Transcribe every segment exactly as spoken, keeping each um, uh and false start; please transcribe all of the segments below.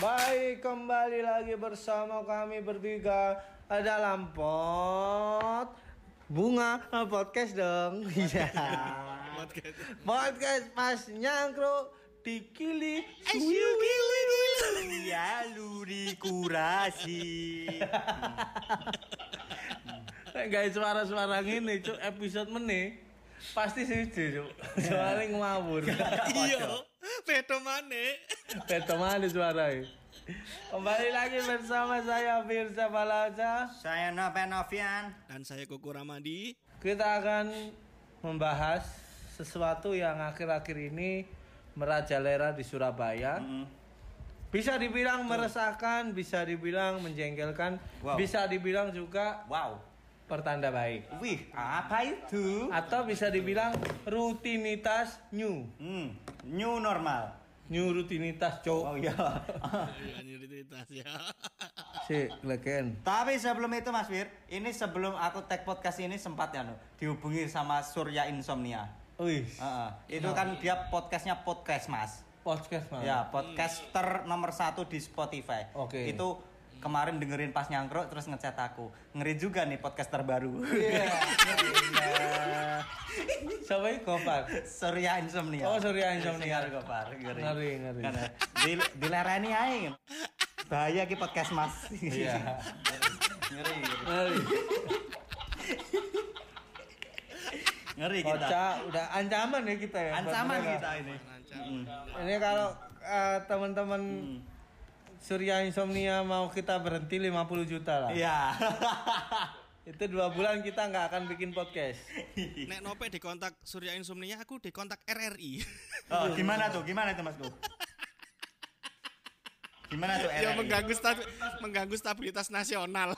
Baik, kembali lagi bersama kami bertiga dalam pot bunga podcast dong. Iya. podcast. Podcast pas nyangkro dikili suwi ya lu dikurasi. Guys, suara-suara ngene cuk episode meneh pasti sih cuk. Soale ngawur. Iya. Beto maneh. Beto maneh suaranya. Kembali lagi bersama saya Firza Balaja, Saya Noven Novian, dan saya Koko Ramadi. Kita akan membahas sesuatu yang akhir-akhir ini merajalela di Surabaya. Mm-hmm. Bisa dibilang meresahkan, bisa dibilang menjengkelkan, wow. Bisa dibilang juga wow, pertanda baik. Wih, apa itu? Atau bisa dibilang rutinitas new. Hmm, new normal. New rutinitas, cok. Oh iya. Iya, new rutinitas ya. Si, leken. Tapi sebelum itu Mas Fir, ini sebelum aku tag podcast ini sempat ya no, dihubungi sama Surya Insomnia. Wih. Uh-uh. Itu kan dia podcastnya podcast Mas. Podcast Mas. Ya, podcaster hmm. nomor satu di Spotify. Oke. Okay. Itu kemarin dengerin pas nyangkruk terus ngechat aku. Ngeri juga nih podcast terbaru. Iya. Yeah. Siapa ini Gopar? Surya Insomnia. Oh, Surya Insomnia. Gopar. Ngeri. Ngeri, ngeri. Karena di dilereni ae. Bahaya ki podcast Mas. Iya. Ngeri. Ngeri. Ngeri kita. Kocak, udah ancaman ya kita ya. Ancaman kita ini. Hmm. Ini kalau uh, teman-teman hmm. Surya Insomnia mau kita berhenti lima puluh juta lah. Iya. Itu dua bulan kita nggak akan bikin podcast. Nek Nope dikontak Surya Insomnia, aku dikontak R R I. Oh, gimana tuh? Gimana tuh Mas Bu? Gimana tuh R R I? Ya mengganggu stabi- mengganggu stabilitas nasional.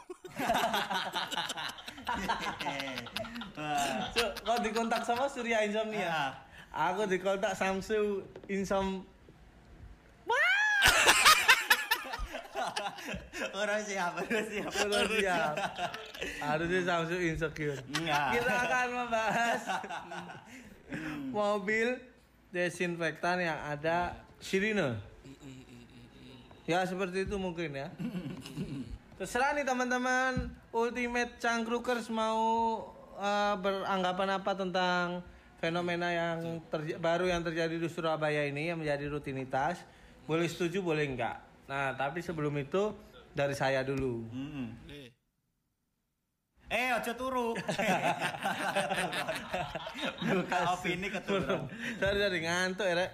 So, kau dikontak sama Surya Insomnia. Aku dikontak Samsu Insom. Orang siap, orang siap, orang siap. Harusnya Samsu insecure. Enggak. Kita akan membahas mobil desinfektan yang ada sirine. Ya seperti itu mungkin ya. Terserah nih teman-teman Ultimate Cangkrukers mau uh, beranggapan apa tentang fenomena yang terj- baru yang terjadi di Surabaya ini yang menjadi rutinitas. Boleh setuju, boleh enggak. Nah, tapi sebelum itu dari saya dulu. Mm-hmm. Eh, eh ojo turu. Buka opini keturun. Dari dari ngantuk ya, Rek.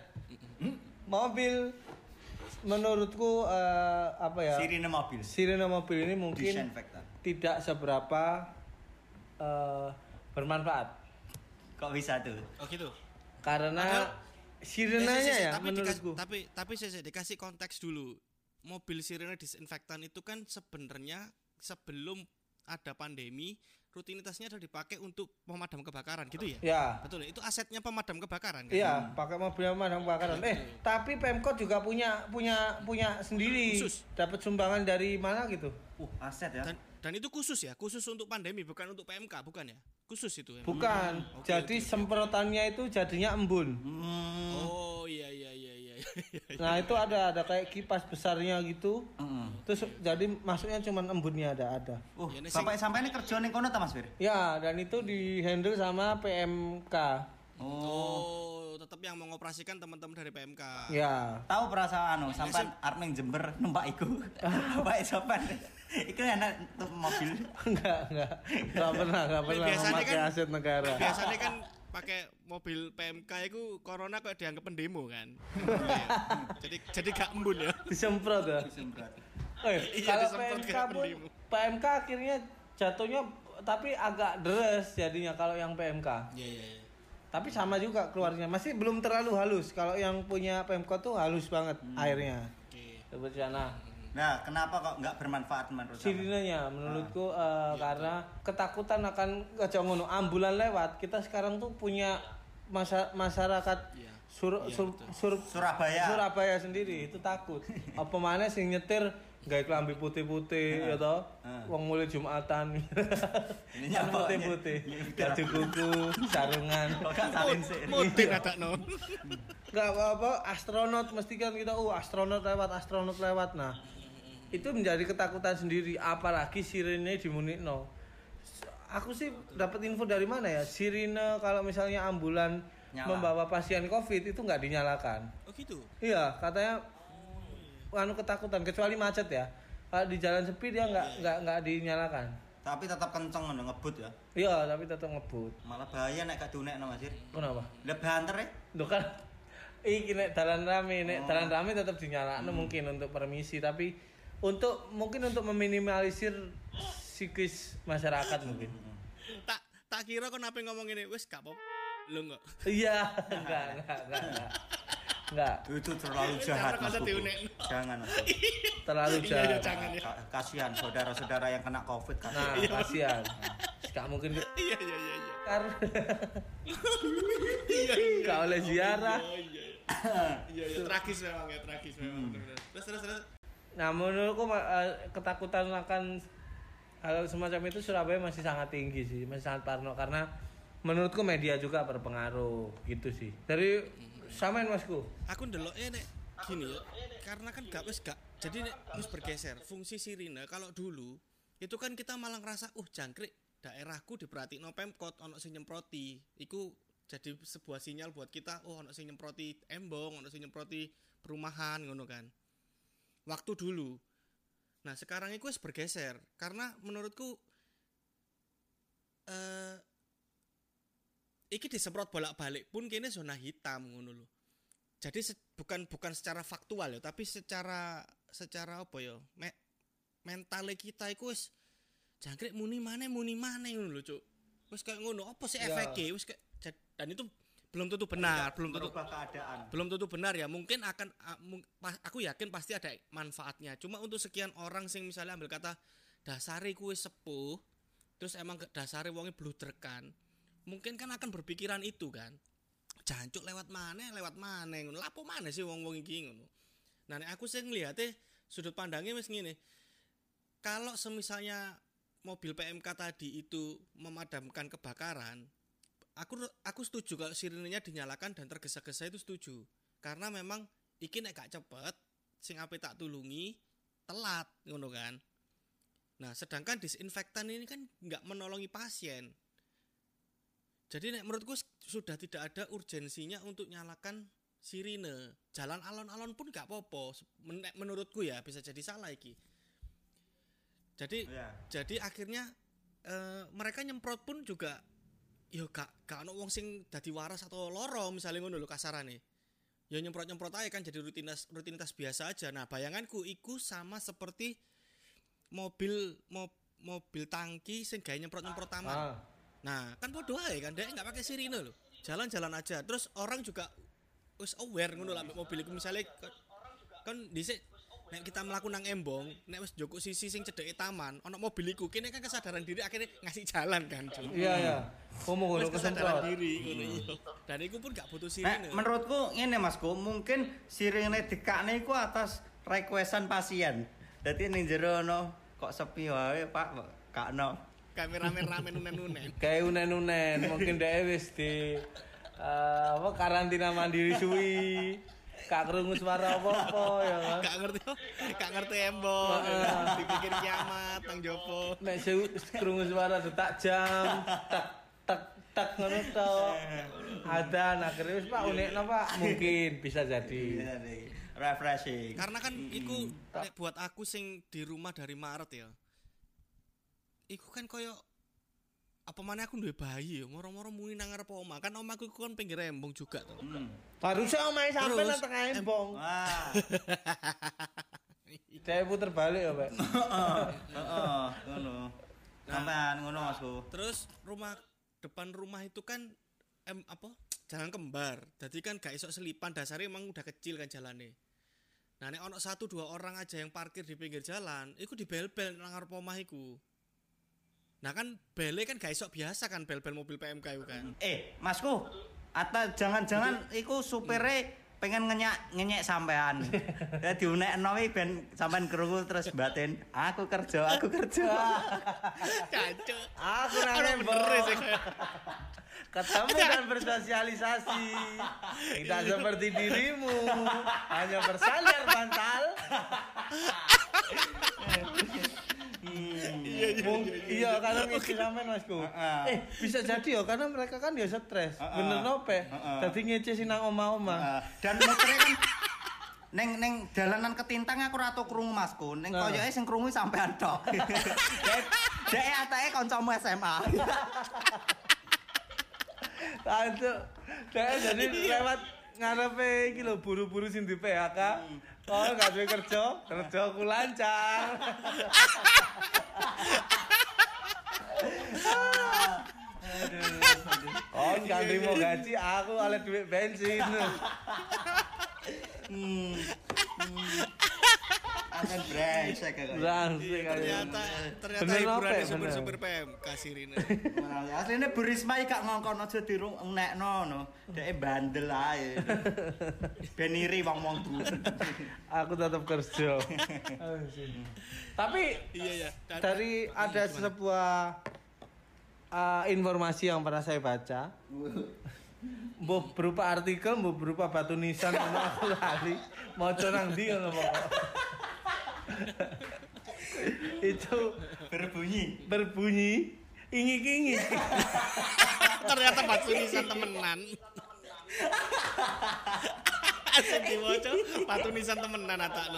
Mobil menurutku uh, apa ya? Sirine mobil. Sirine mobil ini mungkin disinfektan. Tidak seberapa uh, bermanfaat. Kok bisa tuh? Oh gitu. Karena Padahal, sirenanya ya, tapi menurutku. Dikasih, tapi tapi saya dikasih konteks dulu. Mobil sirine disinfektan itu kan sebenarnya sebelum ada pandemi rutinitasnya adalah dipakai untuk pemadam kebakaran gitu ya? Ya. Betul. Itu asetnya pemadam kebakaran kan? Iya, pakai mobil pemadam kebakaran. Eh, tapi Pemkot juga punya punya punya sendiri. Khusus. Dapat sumbangan dari mana gitu? Uh, aset ya. Dan, dan itu khusus ya, khusus untuk pandemi bukan untuk P M K, bukan ya? Khusus itu ya. Bukan. Hmm. Okay, Jadi okay, semprotannya itu jadinya embun. Hmm. Oh iya iya iya iya. Nah, itu ada ada kayak kipas besarnya gitu. Mm-hmm. Terus jadi masuknya cuma embunnya ada ada. Uh, Ya, sampai sampai ini kerja ning kono ta Mas Fir? Ya, dan itu di-handle sama P M K. Oh. Oh, tetap yang mengoperasikan teman-teman dari P M K. Ya. Tahu perasaan anu, sampai arep ning Jember numpak iku. Baik sopan. Iku enak tuh mobil. Enggak, enggak. Enggak pernah, enggak pernah Biasanya memakai kan- aset negara. Biasanya kan pakai mobil P M K itu corona kok dianggap pendemo kan. jadi jadi gak embun ya. Disemprot ya. Disemprot. Eh, Iya, kalau disemprot P M K kayak pun pendemo. P M K akhirnya jatuhnya tapi agak deres jadinya kalau yang P M K. Iya iya iya. Tapi sama juga keluarnya. Masih belum terlalu halus. Kalau yang punya P M K tuh halus banget hmm. airnya. Oke. Seperti sana. Nah, kenapa kok nggak bermanfaat menurut kamu? Sirinenya menurutku uh, Ya, karena ketakutan akan aja ngono ambulan lewat. Kita sekarang tuh punya masa, masyarakat Ya. sur, Ya, sur, betul. sur, Surabaya. Surabaya sendiri itu takut. Apa mana sing nyetir gawe klambi putih-putih ya toh. Wong mulai Jumatan. Ini Kan nyapa, putih-putih. ny- ny- Baju kuku, sarungan. Kok gak salin sih? Mutin ada no. Enggak apa-apa astronot mesti kan kita oh astronot lewat astronot lewat. Nah, itu menjadi ketakutan sendiri apalagi sirene dimunikno. Aku sih dapat info dari mana ya? Sirine kalau misalnya ambulan Nyala. membawa pasien Covid itu nggak dinyalakan. Oh gitu. Iya, katanya anu ketakutan kecuali macet ya. Kalau di jalan sepi dia nggak nggak nggak dinyalakan. Tapi tetap kenceng ngono ngebut ya. Iya, tapi tetap ngebut. Malah bahaya nek gak diunekno Mas. Kenapa? Lah banter ya. Loh kan iki nek dalan rame, nek Oh. dalan rame tetap dinyalakan Hmm. mungkin untuk permisi tapi untuk mungkin untuk meminimalisir psikis masyarakat mungkin. Tak tak kira kok nape ngomong ini wis gak apa-apa. Lho enggak. Iya, enggak, enggak, enggak, enggak. Enggak, Itu terlalu jahat Mas. Kata Kuku. diunekno. Jangan Mas. terlalu Iya, iya, jahat. jangan ya. Ka- Kasihan saudara-saudara yang kena Covid kan. Nah, kasihan. Enggak mungkin Iya iya iya iya. karena Iya iya. enggak oleh ziarah. Iya iya. Iya iya tragis memang ya, tragis memang. Hmm. bener-bener. Terus terus terus. Nah, menurutku eh, ketakutan akan hal semacam itu Surabaya masih sangat tinggi sih, masih sangat parno karena menurutku media juga berpengaruh gitu sih. Dari samain Masku. Aku ndelok eh nek gini ya. Karena kan gak wis gak. Jadi nek wis bergeser fungsi sirine kalau dulu itu kan kita malah ngerasa uh jangkrik daerahku diperhatikno Pemkot ono sing nyemproti. Iku jadi sebuah sinyal buat kita oh ono sing nyemproti embong, ono sing nyemproti perumahan ngono kan. Waktu dulu. Nah, sekarang itu wis bergeser karena menurutku eh iki disemprot bolak-balik pun kene zona hitam ngono lho. Jadi se- bukan bukan secara faktual ya, tapi secara secara apa ya? Me, mentale kita iku wis jangkrik muni maneh muni maneh ngono lho, Cuk. Wis kayak ngono, apa sih Ya. efeknya? Wis kayak jad- dan itu belum tentu benar, belum tentu Merubah keadaan. belum tentu benar ya. Mungkin akan a- mung- pas- aku yakin pasti ada manfaatnya. Cuma untuk sekian orang sing misalnya ambil kata dasare kuwi sepuh, terus emang ke- dasare wonge bludrekan. Mungkin kan akan berpikiran itu kan. Jancuk lewat mana, lewat mana ngono. Lapo mana sih wong-wong iki ngono. Nah, nek aku sing ngliate sudut pandangnya wis ngene. Kalau semisalnya mobil P M K tadi itu memadamkan kebakaran, aku aku setuju kalau sirinenya dinyalakan dan tergesa-gesa itu setuju. Karena memang iki nek gak cepet sing ape tak tulungi telat ngono kan. Nah, sedangkan disinfektan ini kan nggak menolongi pasien. Jadi nek menurutku sudah tidak ada urgensinya untuk nyalakan sirine. Jalan alon-alon pun gak apa-apa. Men- menurutku ya bisa jadi salah iki. Jadi Iya. jadi akhirnya eh, mereka nyemprot pun juga yo gak gak ono wong sing dadi waras atau loro misalnya ngono lho kasarane. Ya nyemprot-nyemprot aja kan jadi rutinitas rutinitas biasa aja. Nah, bayanganku iku sama seperti mobil mo- mobil tangki sing gawe nyemprot-nyemprot taman. Ah. Nah, kan podo ae kan dia enggak pakai sirine lho. Jalan-jalan aja. Terus orang juga wis aware ngono lah mobil iku misale kan- kan dhisik nek kita mlaku nang embong, nek wis njoko sisi sing cedeke taman, ana mobil iku kene kan kesadaran diri akhirnya ngasih jalan kan. Cuk. Iya, iya. Ngomong ngono Wis kesadaran kesemprot. diri ngono iya. Dan iku pun gak butuh Nek sirine. menurutku ngene Masku, mungkin sirine dikakne iku atas requestan pasien. Dadi ning jero ono kok sepi wae, Pak, kakno. Kameramen-ramen unen-unen. Kayak unen-unen, mungkin dia wis di eh, apa karantina mandiri suwi. Kak krungu suara apa-apa ya kan. Gak ngerti, gak ngerti embong. Dipikir kiamat nang jopo. Nek su- krungu suara detak jam, tak tak tak ngono to. Ada nah akhirnya wis Pak unikno Pak, mungkin bisa jadi. Refreshing. Karena kan iku nek buat aku sing di rumah dari Maret ya. Iku kan koyo apa mana aku duwe bayi ya, moro-moro muni nang ngarep omah. Kan omahku iku kan pinggir embong juga to. Hmm. Harusnya omahe sampe Terus, nang tengah embong. Wah. Saya puter balik ya, Pak. Heeh. Heeh, ngono. Sampean ngono Masku. Terus rumah depan rumah itu kan em, apa? Jalan kembar. Jadi kan gak isok selipan, dasarnya emang udah kecil kan jalannya. Nah, nek ono satu dua orang aja yang parkir di pinggir jalan, iku dibel-bel nang ngarep omah iku. Nah kan bele kan gak isok biasa kan bel-bel mobil P M K itu kan. Eh, Masku, atau jangan-jangan iku supire P pengen ngenyek ngenyek sampean. Ya diunekno iki ben sampean krungu terus batin, aku kerja, aku kerja. Cancuk. Aku nang Ora nembok. bener sih. Ketemu dan bersosialisasi. Tidak seperti dirimu, hanya bersandar bantal. Iya iya Mung- iya karena ngisi sampean Masku. Heeh. Eh bisa jadi ya karena mereka kan ya stres. Heeh. Bener nope. Heeh. Dadi ngece sing nang omah-omah. Uh, dan mutere kan neng neng dalanan ketintang aku ora tau krungu Masku. Neng Nah. koyoke sing krungu sampean tok. Dek dek atake kancamu S M A. Aduh. Dek jadi lewat ngarepe iki lho buru-buru sing di P H K. Oh, gak duwe kerja, kerjaku lancar. Oh, gak terima gaji, aku oleh duit bensin. Hmm. Akan brengsek kok. Langsung Ternyata ternyata Bener apa hiburannya ya, super-super P M kasirine. Asline Bu Risma iki gak ngongkon aja dirungekno no. Deke bandel ae. Ben iri wong-wong Bu. Aku tetap kerja. Tapi Iya ya. Dan- dari ada sebuah uh, informasi yang pernah saya baca, mbok berupa artikel, mbok berupa batu nisan, ono aku lali, maca nang ndi ngono pokok. Itu Berbunyi. berbunyi ingik-ingik. Ternyata batu nisan temenan. Asik diwaca batu nisan temenan atakno.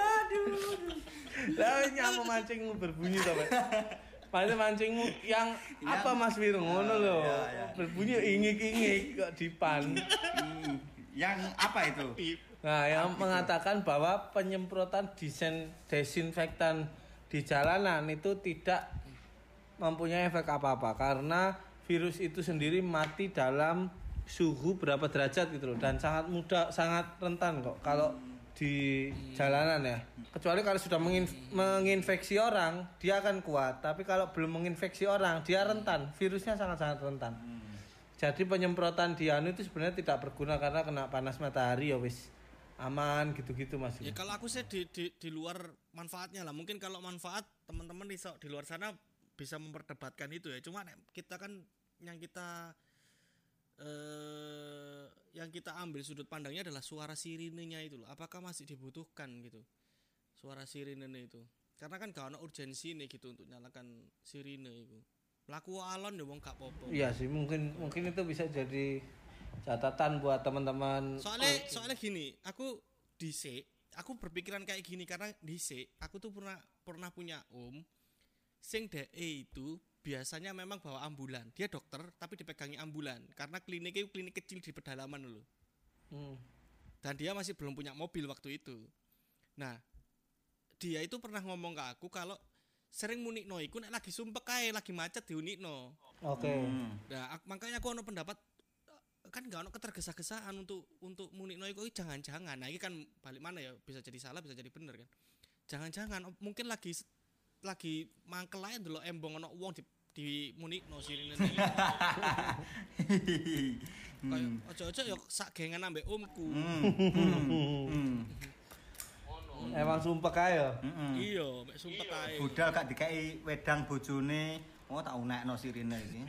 Lah nyampe mancingmu berbunyi to, Pak. Padahal mancingmu yang apa Mas Wirung ngono lho. Ya, ya. Berbunyi ingik-ingik kok dipan. Hmm. Yang apa itu? Nah, yang mengatakan bahwa penyemprotan disen, desinfektan di jalanan itu tidak mempunyai efek apa-apa karena virus itu sendiri mati dalam suhu berapa derajat gitu loh dan sangat mudah, sangat rentan kok kalau di jalanan ya. Kecuali kalau sudah menginf- menginfeksi orang, dia akan kuat. Tapi kalau belum menginfeksi orang, dia rentan. Virusnya sangat-sangat rentan. Jadi penyemprotan di anu itu sebenarnya tidak berguna karena kena panas matahari ya wis aman gitu-gitu Mas. Ya kalau aku sih di, di di luar manfaatnya lah. Mungkin kalau manfaat teman-teman di di luar sana bisa memperdebatkan itu ya. Cuma nek kita kan yang kita eh yang kita ambil sudut pandangnya adalah suara sirinenya itu loh. Apakah masih dibutuhkan gitu? Suara sirinenya itu. Karena kan gak ada urgensi nih gitu untuk nyalakan sirine itu. Laku alon ya wong gak popo. Iya sih mungkin mungkin itu bisa jadi catatan buat teman-teman. Soalnya soalnya gini, aku dhisik, aku berpikiran kayak gini karena dhisik, aku tuh pernah pernah punya om sing dhek itu biasanya memang bawa ambulan. Dia dokter tapi dipegangi ambulan karena kliniknya klinik kecil di pedalaman loh. Hmm. Dan dia masih belum punya mobil waktu itu. Nah, dia itu pernah ngomong ke aku kalau sering munikno iku nek lagi sumpek kae, lagi macet diunikno. Oke. Hmm. Nah, ak- makanya aku ono pendapat kan gak ono ketergesa-gesaan untuk untuk munikno iku jangan-jangan. Nah, ini kan balik mana ya, bisa jadi salah, bisa jadi bener kan. Jangan-jangan oh, mungkin lagi lagi mangkel ae ndelok embong ono wong di di munikno sirine. Kayak ojo-ojo ya sak gengan ambek omku. Hmm. Hmm. Hmm. Emang sumpah kae ya. Hmm. Iya, mek sumpah kae. Budal gak dikai wedang bojone, oh tak unekno sirine iki.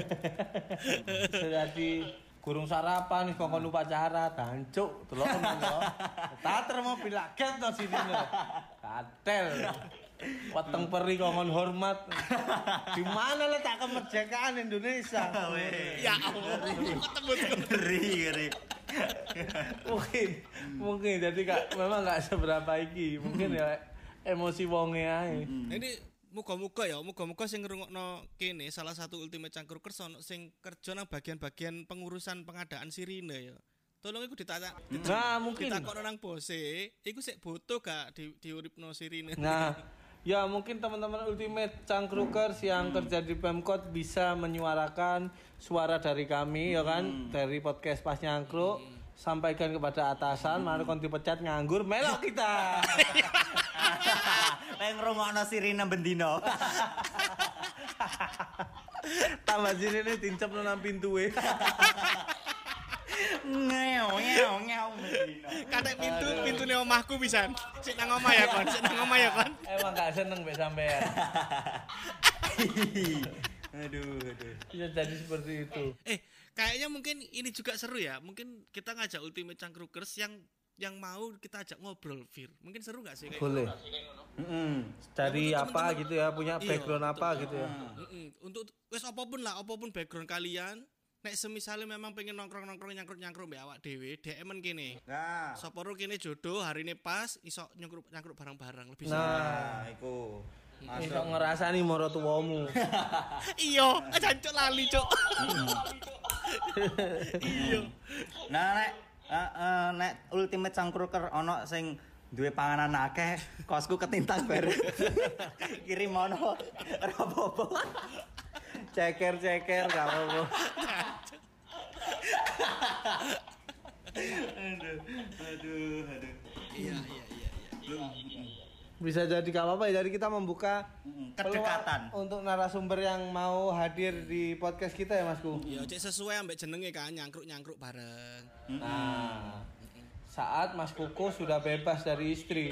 Jadi kurung sarapan wis kongkon upacara dancuk delok ngono. Tater mobil laget to sini lho. Katel. Weteng peri kongkon hormat. Di mana letak kemerdekaan Indonesia? Ya Allah, ketemu Ngeri, ngeri. Mungkin mungkin jadi kak memang nggak seberapa iki. Mungkin ya emosi wonge ae. Nah, ini muga-muga ya, muga-muga sing ngrungokno kene salah satu Ultimate Cangkrukers ono sing kerja nang bagian-bagian pengurusan pengadaan sirine ya. Tolong iku ditanya, Nah, mungkin. ditakokno nang bose, iku sik butuh gak di diuripno sirine. Nah, ya mungkin teman-teman Ultimate Cangkrukers yang kerja di Pemkot bisa menyuarakan suara dari kami ya kan, dari podcast Pas Nyangkruk. Sampaikan kepada atasan, mari kon dipecat nganggur, melok kita. Nek ngrungokno sirine bendino. Tambah sini nih tincep nang pintu we. Ngeo ngeo ngeo. katek pintu, pintune omahku pisan. Sik nang omah ya kon, sik nang omah ya kon. Emang gak seneng mbek sampean. Aduh, aduh. Bisa jadi seperti itu. Eh, kayaknya mungkin ini juga seru ya. Mungkin kita ngajak Ultimate Cangkrukers yang yang mau kita ajak ngobrol, Fir. Mungkin seru gak sih kayak Boleh. Heeh. Dari Ya, apa temen-temen. gitu ya, punya Iya, background betul. apa gitu ya. Mm-mm. Untuk wes apapun lah, apapun background kalian. Nek semisale memang pengen nongkrong-nongkrong nyangkruk-nyangkruk mbek awak dhewe, D M-en kene. Nah, Sapa ro kene jodoh, harine pas, iso nyangkruk-nyangkruk bareng-bareng lebih seru. Nah, nah iku. iso ngerasani moro tuwamu. Iya, jancuk lali, Cuk. Iya. Nah nek eh, eh, nek Ultimate Cangkruker ono sing duwe panganan akeh, kosku ketintang bareng. Kirim ono ora apa-apa. Ceker-ceker gak apa-apa. Aduh, aduh, aduh. Iya, iya, iya, iya. Bisa jadi gak apa-apa ya, jadi kita membuka Mm, kedekatan. peluang untuk narasumber yang mau hadir di podcast kita ya Masku. Iya, cek sesuai ambek jenenge kan, nyangkruk-nyangkruk bareng. Nah, saat Mas Kuku sudah bebas dari istri.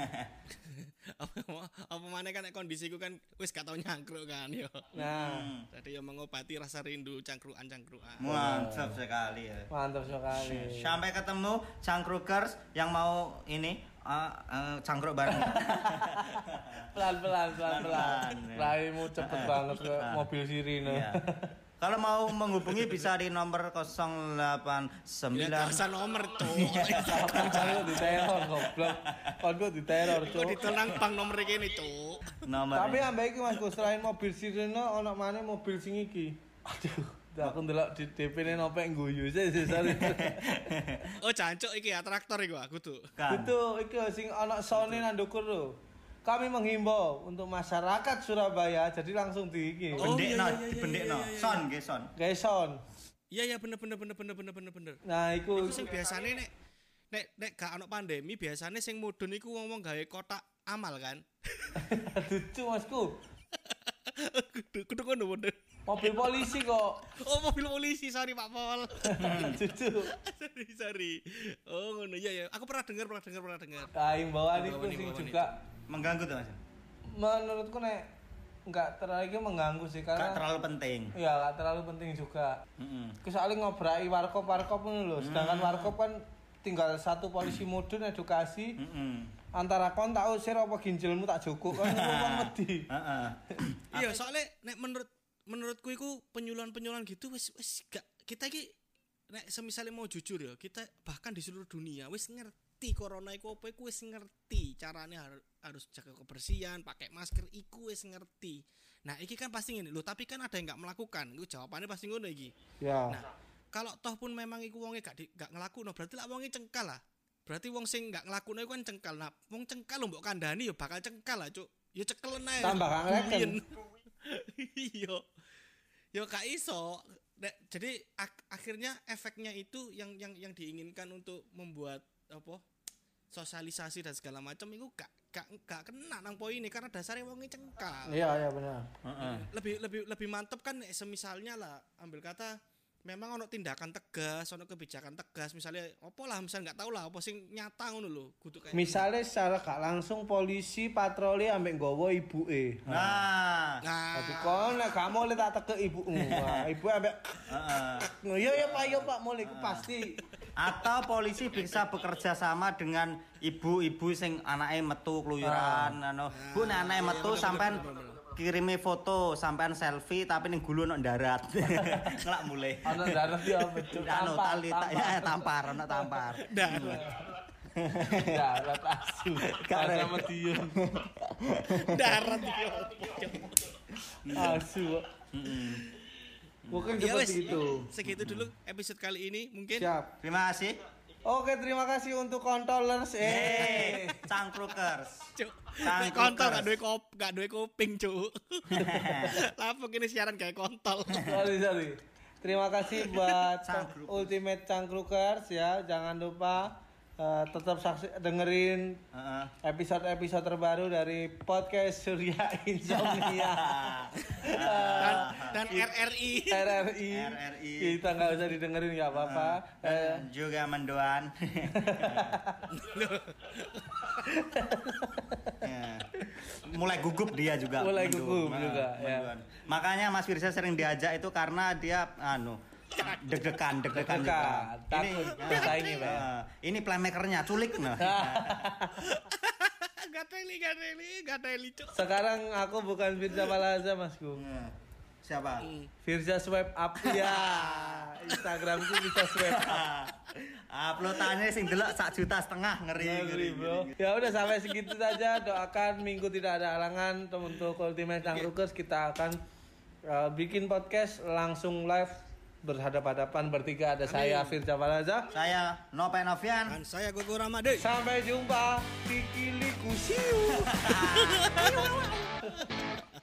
apa apa mana kan nek kondisiku kan wis gak tau nyangkruk kan yo. Nah, Jadi yo mengobati rasa rindu cangkruan-cangkruan. Mantap sekali ya. mantap sekali. Sampai ketemu Cangkrukers yang mau ini uh, uh, cangkruk bareng. Pelan-pelan, pelan-pelan. Pelan, ya. Raimu cepet banget ke Ah. mobil sirine. Iya. Kalau mau menghubungi bisa di nomor nol delapan Ya sembilan. rasa nomor tuh. Kalau diteror goblok. Kalau diteror, Kok Cuk. ditenang bang nomor kene, Cuk. Nomor. Tapi ambek iki Mas Gus, selain mobil sirine ono maneh mobil sing iki. Aduh, aku ndelok di D P-ne nopek guyu sih sorry. Oh, jancuk iki ya traktor iku aku tuh. Kan. Itu iki sing ana sone nang ndukur lho. Kami menghimbau untuk masyarakat Surabaya, jadi langsung di iki. Oh, iya, Bendekno, iya, iya, dibendekno. iya, iya, iya. Son, nggih son. Guys son. Iya ya bener bener bener bener bener bener bener. Nah, iku Iku sing biasane nek nek nek gak ono pandemi biasane sing mudhun iku wong-wong gawe kotak amal kan. lucu Masku. Kudu kudu ngono bener. Mobil polisi kok. Oh, mobil polisi, sorry Pak Pol. Lucu. sorry, sorry. Oh, ngono ya ya. Aku pernah dengar, pernah dengar, pernah dengar. Nah, imbauan itu Imbauan, sing imbauan juga Mengganggu tuh Mas. menurutku nek enggak terlalu mengganggu sih Gak karena terlalu penting. ya enggak terlalu penting juga. Heeh. Kecuali ngobraki warkop-warkop ngono lho. Sedangkan warkop kan tinggal satu polisi mudun edukasi Heeh. antara kon tak usir apa ginjelmu tak jukuk kan wong wedi. Heeh. Iya, soalnya nek menurut menurutku iku penyuluhan-penyuluhan gitu wis wis gak kita iki nek semisale mau jujur ya, kita bahkan di seluruh dunia wis ngerti corona iku apa iku wis ngerti carane har, harus jaga kebersihan, pakai masker iku wis ngerti. Nah, iki kan pasti ngene lho, tapi kan ada yang enggak melakukan. Iku jawabannya pasti ngono iki. Ya. Nah, kalau toh pun memang iku wonge gak di, gak ngelakuno, berarti lah wonge cengkal lah. Berarti wong sing gak ngelakuno iku kan cengkal. Nah, wong cengkal lho mbok kandhani ya bakal cengkal lah, Cuk. Ya cekelen ae. Tambah gak ngeleken. Iya. Ya gak iso. Nek- jadi ak- akhirnya efeknya itu yang yang yang diinginkan untuk membuat apa? Sosialisasi dan segala macam itu gak gak gak kena nang poin ini karena dasarnya wonge cengkal. Iya, iya benar. Heeh. Lebih lebih lebih mantep kan nek semisalnya lah ambil kata memang ono tindakan tegas, ono kebijakan tegas misalnya opo lah misal nggak tahu lah apa sing nyata ngono lho kudu kayak Misalnya secara gak langsung polisi patroli ambek nggawa ibuke. Nah. nah Tapi kon nek gak mau tak tekek ibumu. Wah, ibu ambek Heeh. ya ya Pak, ya Pak, mulai iku pasti. Atau polisi bisa bekerja sama dengan ibu-ibu sing anake metu keluyuran anu. Bu nek anake metu sampean kirimi foto sampean selfie tapi ning gulu ono darat. Ngelak mulai. Ana darat ya betul. Anu tali tak ya tampar ono tampar. darat Darat asu. Gak ada. Ada medium. darat iki opo Asu. Heeh. Mungkin ya wes seperti itu. segitu dulu episode kali ini mungkin Siap. Terima kasih. Oke, terima kasih untuk kontolers. Eh, Eh. Cangkrukers. Cuk. Cangkrukers. Nek kontol gak duwe kop, gak duwe kuping, Cuk. Lapo kene siaran kayak kontol. Sorry, sorry. Terima kasih buat Cangkrukers. Ultimate Cangkrukers ya. Jangan lupa Uh, tetap saksi dengerin Heeh. episode-episode terbaru dari podcast Surya Insomnia dan, dan R R I R R I. R R I. Kita nggak usah didengerin nggak apa-apa. Uh, Eh, juga mendoan. Ya. Mulai gugup dia juga. Mulai mendu- gugup Nah, juga, ya. menduan. Makanya Mas Firza sering diajak itu karena dia anu deg-degan, deg-degan juga. Deg-degan, takut Ini, bersaing ya, Pak. eh, ini playmakernya culik nah. gateli gateli gateli cuk sekarang aku bukan Firza Palaza Masku. Nah, Siapa? Firza swipe up ya. Instagramku bisa swipe up. Uploadannya sing delok sak juta setengah ngeri ngeri, Ngeri, bro. Ya udah sampai segitu saja. Doakan minggu tidak ada halangan untuk Ultimate Cangkrukers. Kita akan uh, bikin podcast langsung live berhadapan-hadapan bertiga. Ada saya Firza Palaza. Saya Nopen Novian. dan saya Gogo Ramade. Sampai jumpa. Kikiliku. See you.